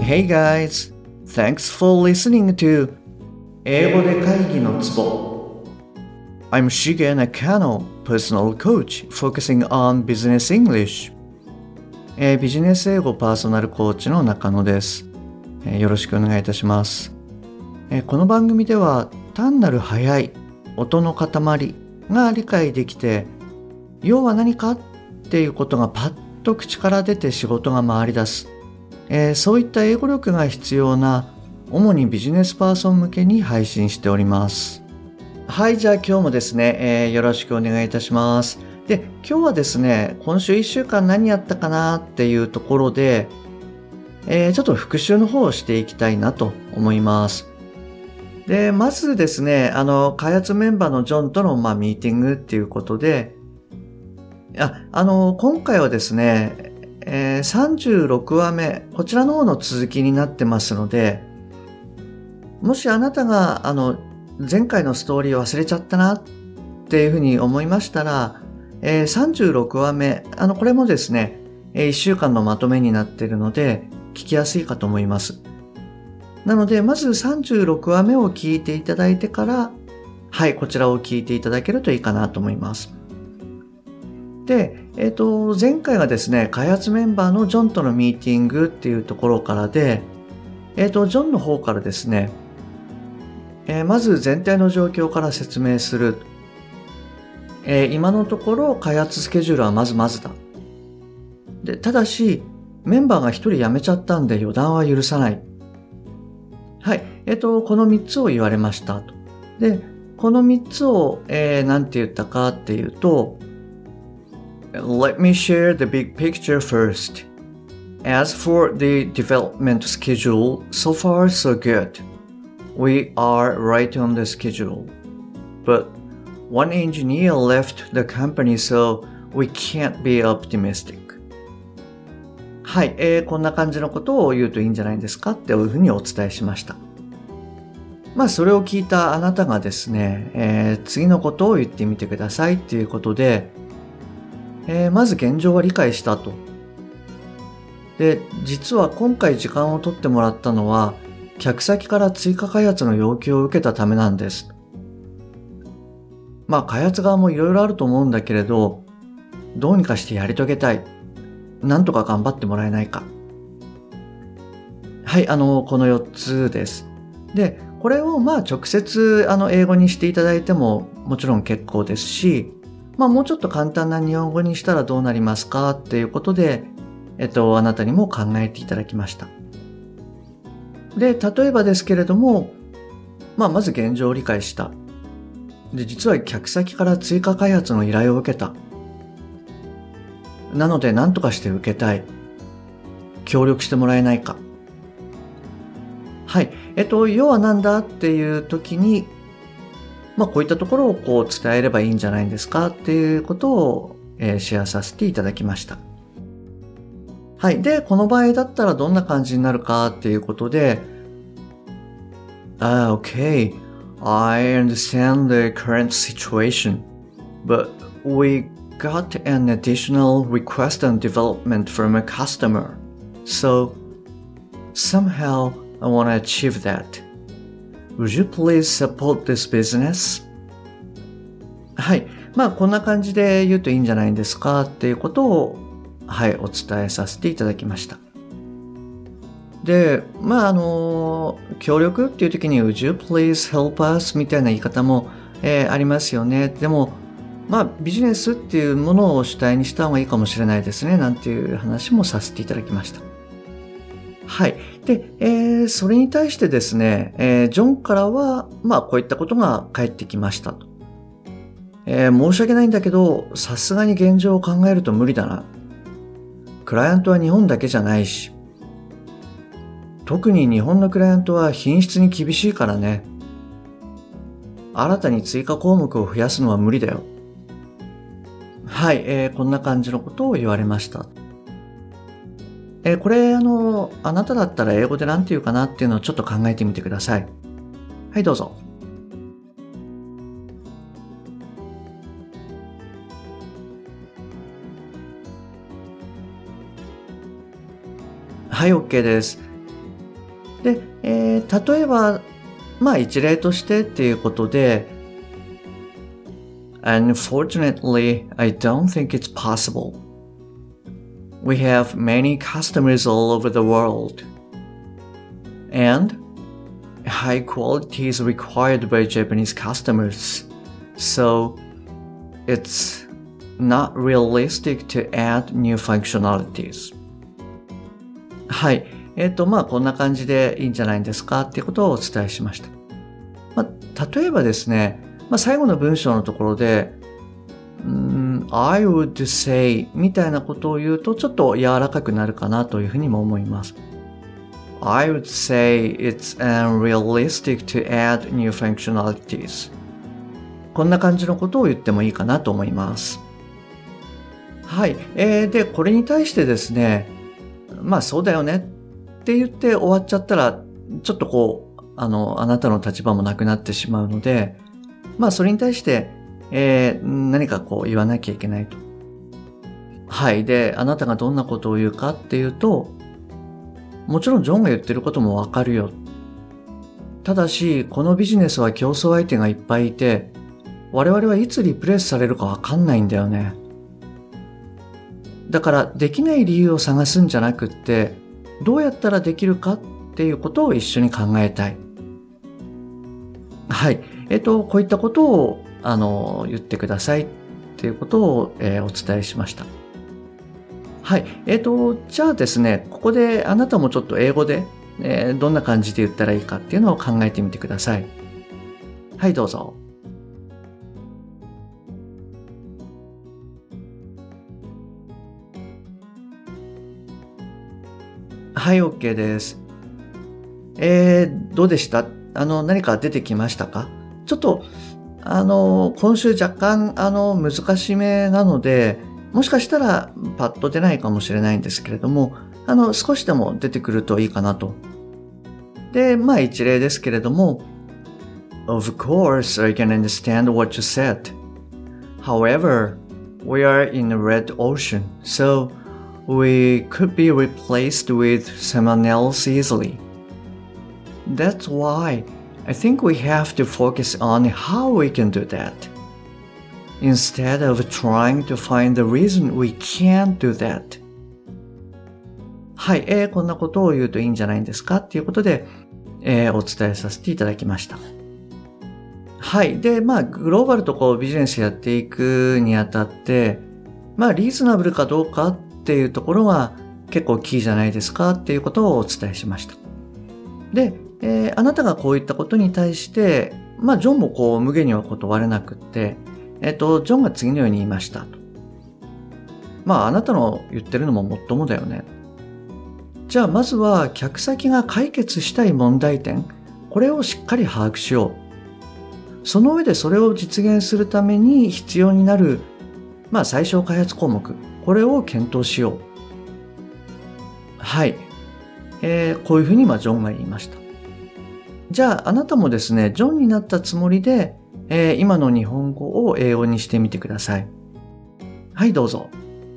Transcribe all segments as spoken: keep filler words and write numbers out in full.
Hey guys, thanks for listening to 英語で会議のツボ I'm Shige Nakano, personal coach focusing on business English、えー、ビジネス英語パーソナルコーチの中野です、えー、よろしくお願いいたします、えー、この番組では単なる速い音の塊が理解できて、要は何かっていうことがパッと口から出て仕事が回り出す、えー、そういった英語力が必要な主にビジネスパーソン向けに配信しております。はい、じゃあ今日もですね、えー、よろしくお願いいたします。で、今日はですね、今週いっしゅうかん何やったかなっていうところで、えー、ちょっと復習の方をしていきたいなと思います。で、まずですね、あの、開発メンバーのジョンとの、まあ、ミーティングっていうことで、あ、あの、今回はですね、えー、さんじゅうろくわめ、こちらの方の続きになってますので、もしあなたが、あの、前回のストーリー忘れちゃったなっていうふうに思いましたら、えー、さんじゅうろくわめ、あの、これもですね、いっしゅうかんのまとめになっているので、聞きやすいかと思います。なので、まずさんじゅうろくわめを聞いていただいてから、はい、こちらを聞いていただけるといいかなと思います。で、えっと、前回がですね、開発メンバーのジョンとのミーティングっていうところからで、えっと、ジョンの方からですね、えー、まず全体の状況から説明する。えー、今のところ開発スケジュールはまずまずだ。で、ただし、メンバーが一人辞めちゃったんで予断は許さない。はい。えっと、この三つを言われましたと。で、この三つを、えー、なんて言ったかっていうと、Let me share the big picture first. As for the development schedule, so far so good. We are right on the schedule. But one engineer left the company, so we can't be optimistic. はい、えー、こんな感じのことを言うといいんじゃないですかっていうふうにお伝えしました。まあそれを聞いたあなたがですね、えー、次のことを言ってみてくださいっていうことで、えー、まず現状は理解したと。で、実は今回時間を取ってもらったのは、客先から追加開発の要求を受けたためなんです。まあ開発側もいろいろあると思うんだけれど、どうにかしてやり遂げたい。なんとか頑張ってもらえないか。はい、あの、このよっつです。で、これをまあ直接あの英語にしていただいてももちろん結構ですし、まあもうちょっと簡単な日本語にしたらどうなりますかっていうことで、えっと、あなたにも考えていただきました。で、例えばですけれども、まあまず現状を理解した。で、実は客先から追加開発の依頼を受けた。なので何とかして受けたい。協力してもらえないか。はい。えっと、要はなんだっていう時に、まあこういったところをこう伝えればいいんじゃないんですかっていうことを、えー、シェアさせていただきました。はい。で、この場合だったらどんな感じになるかっていうことで、Ah, okay. I understand the current situation, but we got an additional request on development from a customer. So, somehow I want to achieve that. Would you please support this business? はい。まあ、こんな感じで言うといいんじゃないんですかっていうことを、はい、お伝えさせていただきました。で、まあ、あの、協力っていう時に Would you please help us? みたいな言い方も、えー、ありますよね。でも、まあ、ビジネスっていうものを主体にした方がいいかもしれないですね。なんていう話もさせていただきました。はい。で、えー、それに対してですね、えー、ジョンからは、まあ、こういったことが返ってきましたと。えー、申し訳ないんだけど、さすがに現状を考えると無理だな。クライアントは日本だけじゃないし、特に日本のクライアントは品質に厳しいからね。新たに追加項目を増やすのは無理だよ。はい、えー、こんな感じのことを言われました。えー、これ、あの、あなただったら英語で何て言うかなっていうのをちょっと考えてみてください。はい、どうぞ。はい、OK です。 で、えー、例えば、まあ一例としてっていうことで、Unfortunately, I don't think it's possible. We have many customers all over the world. And high quality is required by Japanese customers. So it's not realistic to add new functionalities. はい。えっと、まあ、こんな感じでいいんじゃないんですかっていうことをお伝えしました。まあ、例えばですね、まあ、最後の文章のところで、ん I would say みたいなことを言うとちょっと柔らかくなるかなというふうにも思います。I would say it's unrealistic to add new functionalities. こんな感じのことを言ってもいいかなと思います。はい。えー、で、これに対してですね、まあそうだよねって言って終わっちゃったら、ちょっとこう、あの、あなたの立場もなくなってしまうので、まあそれに対して、えー、何かこう言わなきゃいけないと。はい。で、あなたがどんなことを言うかっていうと、もちろんジョンが言ってることもわかるよ。ただし、このビジネスは競争相手がいっぱいいて、我々はいつリプレイスされるかわかんないんだよね。だからできない理由を探すんじゃなくって、どうやったらできるかっていうことを一緒に考えたい。はい。えっと、こういったことを、あの、言ってくださいっていうことを、えー、お伝えしました。はい。えっと、じゃあですね、ここであなたもちょっと英語で、えー、どんな感じで言ったらいいかっていうのを考えてみてください。はい、どうぞ。はい、OK です。えー、どうでした？あの、何か出てきましたか？ちょっと、あの、今週若干、あの、難しめなので、もしかしたらパッと出ないかもしれないんですけれども、あの、少しでも出てくるといいかなと。で、まあ一例ですけれども、Of course, I can understand what you said. However, we are in a red ocean, so we could be replaced with someone else easily. That's why I think we have to focus on how we can do that, instead of trying to find the reason we can't do that. はい、えー、こんなことを言うといいんじゃないんですかっていうことで、えー、お伝えさせていただきました。はい。で、まあ、グローバルとこうビジネスやっていくにあたって、まあ、リーズナブルかどうかっていうところが結構キーじゃないですかっていうことをお伝えしました。で、えー、あなたがこういったことに対して、まあ、ジョンもこう無限には断れなくって、えっと、ジョンが次のように言いましたと。まあ、あなたの言ってるのももっともだよね。じゃあ、まずは客先が解決したい問題点、これをしっかり把握しよう。その上でそれを実現するために必要になる、まあ、最小開発項目、これを検討しよう。はい。えー、こういうふうにまあジョンが言いました。じゃあ、あなたもですね、ジョンになったつもりで、えー、今の日本語を英語にしてみてください。はい、どうぞ。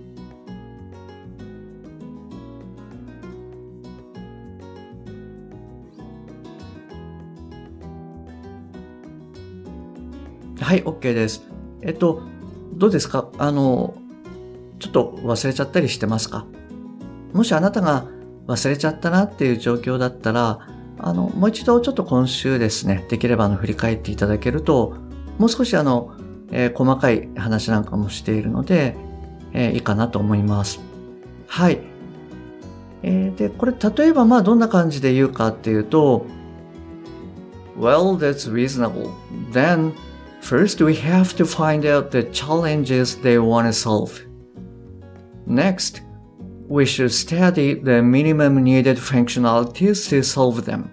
はい、OK です。えっと、どうですか？あの、ちょっと忘れちゃったりしてますか？もしあなたが忘れちゃったなっていう状況だったら、あの、もう一度ちょっと今週ですね、できればあの振り返っていただけると、もう少しあの、えー、細かい話なんかもしているので、えー、いいかなと思います。はい。えー、で、これ例えばまあどんな感じで言うかっていうと、Well, that's reasonable. Then, first we have to find out the challenges they want to solve. Next, we should study the minimum needed functionalities to solve them.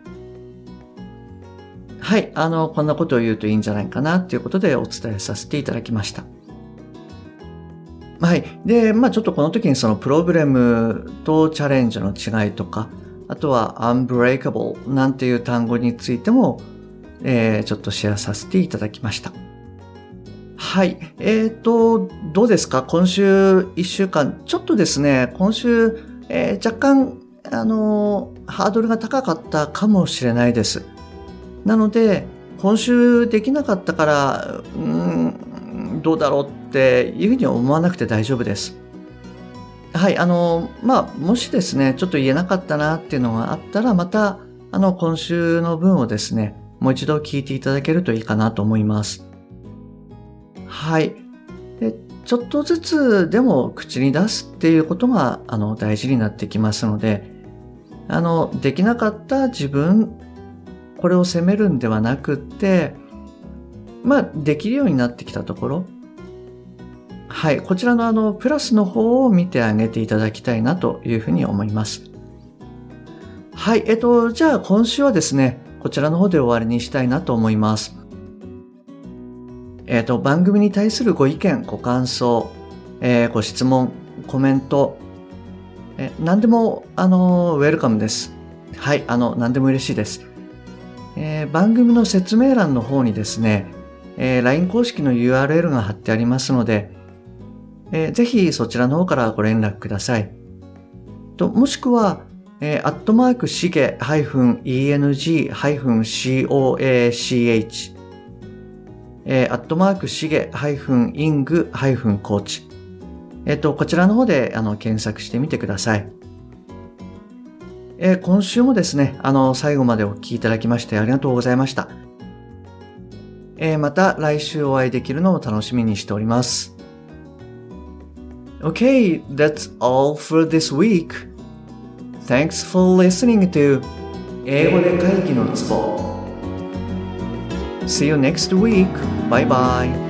はい、あの、こんなことを言うといいんじゃないかなということでお伝えさせていただきました。はい。で、まあちょっとこの時にそのプロブレムとチャレンジの違いとか、あとは unbreakable なんていう単語についても、えー、ちょっとシェアさせていただきました。はい。えーと、どうですか？今週いっしゅうかん、ちょっとですね、今週、えー、若干、あのー、 ハードルが高かったかもしれないです。なので、今週できなかったから、うーん、どうだろうっていうふうに思わなくて大丈夫です。はい、あの、まあ、もしですね、ちょっと言えなかったなっていうのがあったら、また、あの、今週の分をですね、もう一度聞いていただけるといいかなと思います。はい。で、ちょっとずつでも口に出すっていうことが、あの、大事になってきますので、あの、できなかった自分、これを責めるんではなくって、まあ、できるようになってきたところ、はい、こちらのあの、プラスの方を見てあげていただきたいなというふうに思います。はい、えっと、じゃあ今週はですね、こちらの方で終わりにしたいなと思います。えっと、番組に対するご意見、ご感想、えーご質問、コメント、え何でも、あの、ウェルカムです。はい、あの、何でも嬉しいです。えー番組の説明欄の方にですね、えー ライン 公式の ユーアールエル が貼ってありますので、えーぜひそちらの方からご連絡ください。ともしくは、えー、アットマークしげ -eng-coach、えー、アットマークしげ -ing-coach、えっと、こちらの方であの検索してみてください。えー今週もですね、あの、最後までお聞きいただきましてありがとうございました。えーまた来週お会いできるのを楽しみにしております。Okay, that's all for this week. Thanks for listening to 英語で会議のツボ. See you next week. Bye bye.